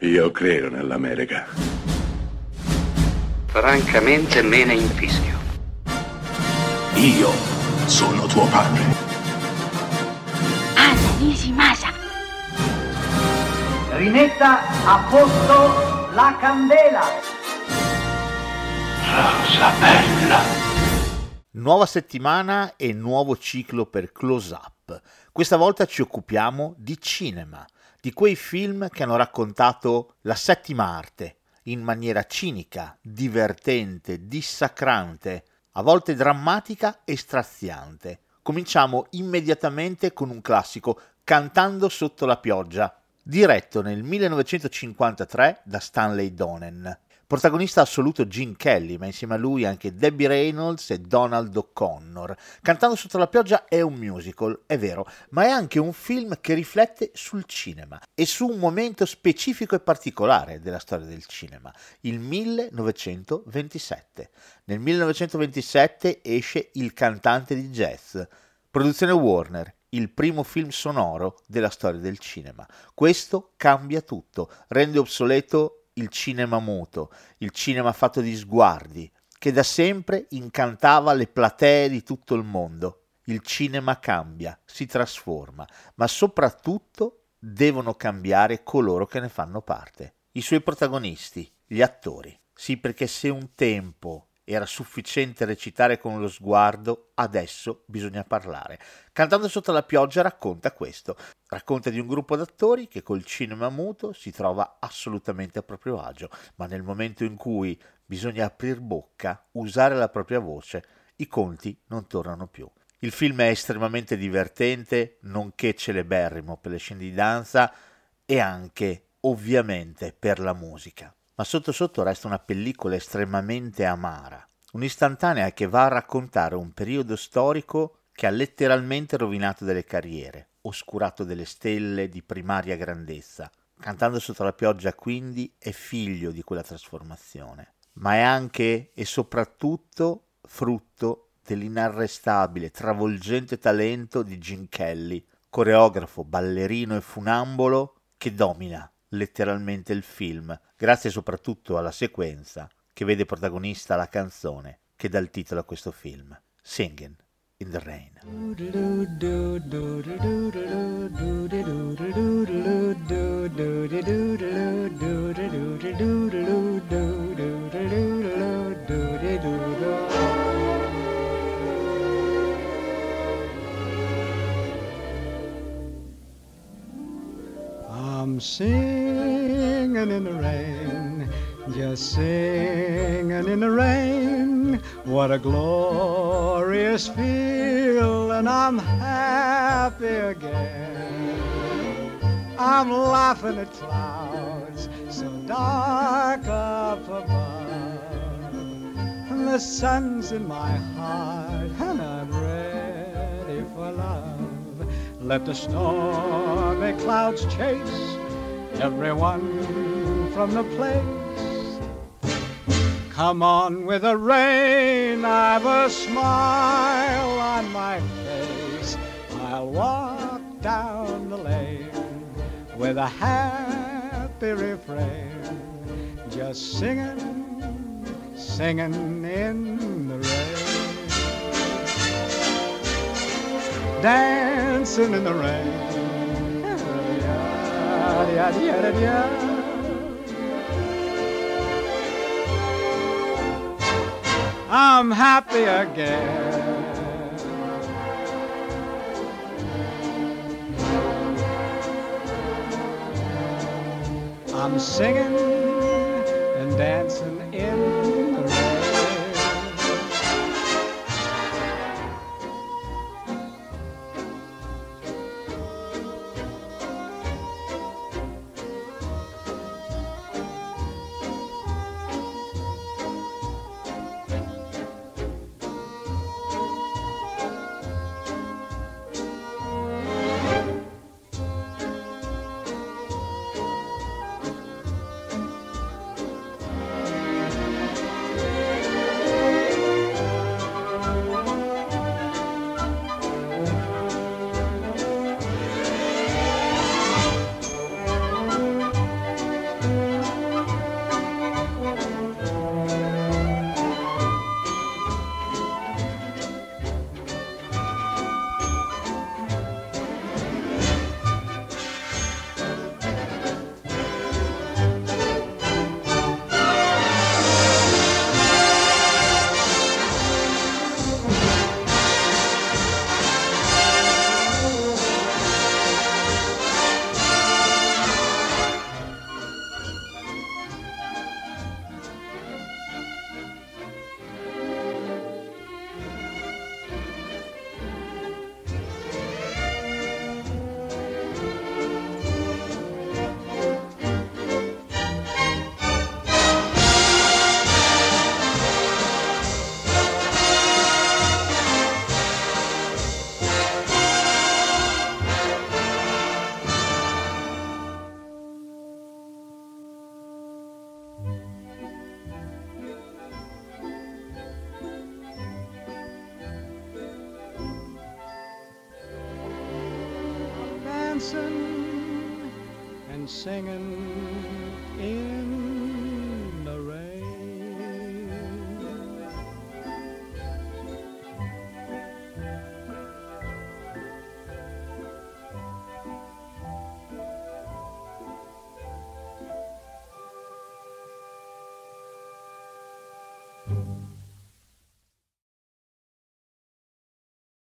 Io credo nell'America. Francamente me ne infischio. Io sono tuo padre. Anna Nishimasa. Rimetta a posto la candela. Rosa bella. Nuova settimana e nuovo ciclo per Close Up. Questa volta ci occupiamo di cinema, di quei film che hanno raccontato la settima arte in maniera cinica, divertente, dissacrante, a volte drammatica e straziante. Cominciamo immediatamente con un classico, Cantando sotto la pioggia, diretto nel 1953 da Stanley Donen. Protagonista assoluto Gene Kelly, ma insieme a lui anche Debbie Reynolds e Donald O'Connor. Cantando sotto la pioggia è un musical, è vero, ma è anche un film che riflette sul cinema e su un momento specifico e particolare della storia del cinema, il 1927. Nel 1927 esce Il cantante di jazz, produzione Warner, il primo film sonoro della storia del cinema. Questo cambia tutto, rende obsoleto il cinema muto, il cinema fatto di sguardi, che da sempre incantava le platee di tutto il mondo. Il cinema cambia, si trasforma, ma soprattutto devono cambiare coloro che ne fanno parte. I suoi protagonisti, gli attori. Sì, perché se un tempo era sufficiente recitare con lo sguardo, adesso bisogna parlare. Cantando sotto la pioggia racconta questo. Racconta di un gruppo d'attori che col cinema muto si trova assolutamente a proprio agio, ma nel momento in cui bisogna aprir bocca, usare la propria voce, i conti non tornano più. Il film è estremamente divertente, nonché celeberrimo per le scene di danza e anche, ovviamente, per la musica. Ma sotto sotto resta una pellicola estremamente amara, un'istantanea che va a raccontare un periodo storico che ha letteralmente rovinato delle carriere, oscurato delle stelle di primaria grandezza. Cantando sotto la pioggia quindi è figlio di quella trasformazione, ma è anche e soprattutto frutto dell'inarrestabile, travolgente talento di Gene Kelly, coreografo, ballerino e funambolo che domina letteralmente il film, grazie soprattutto alla sequenza che vede protagonista la canzone che dà il titolo a questo film, Singing in the Rain. I'm singing in the rain, just singing in the rain. What a glorious feel, and I'm happy again. I'm laughing at clouds so dark up above, and the sun's in my heart, and I'm ready for love. Let the stormy clouds chase everyone from the place. Come on with the rain, I've a smile on my face. I'll walk down the lane with a happy refrain, just singing, singing in the rain. Dancing in the rain. I'm happy again. I'm singing and dancing in the rain. dancing and singing in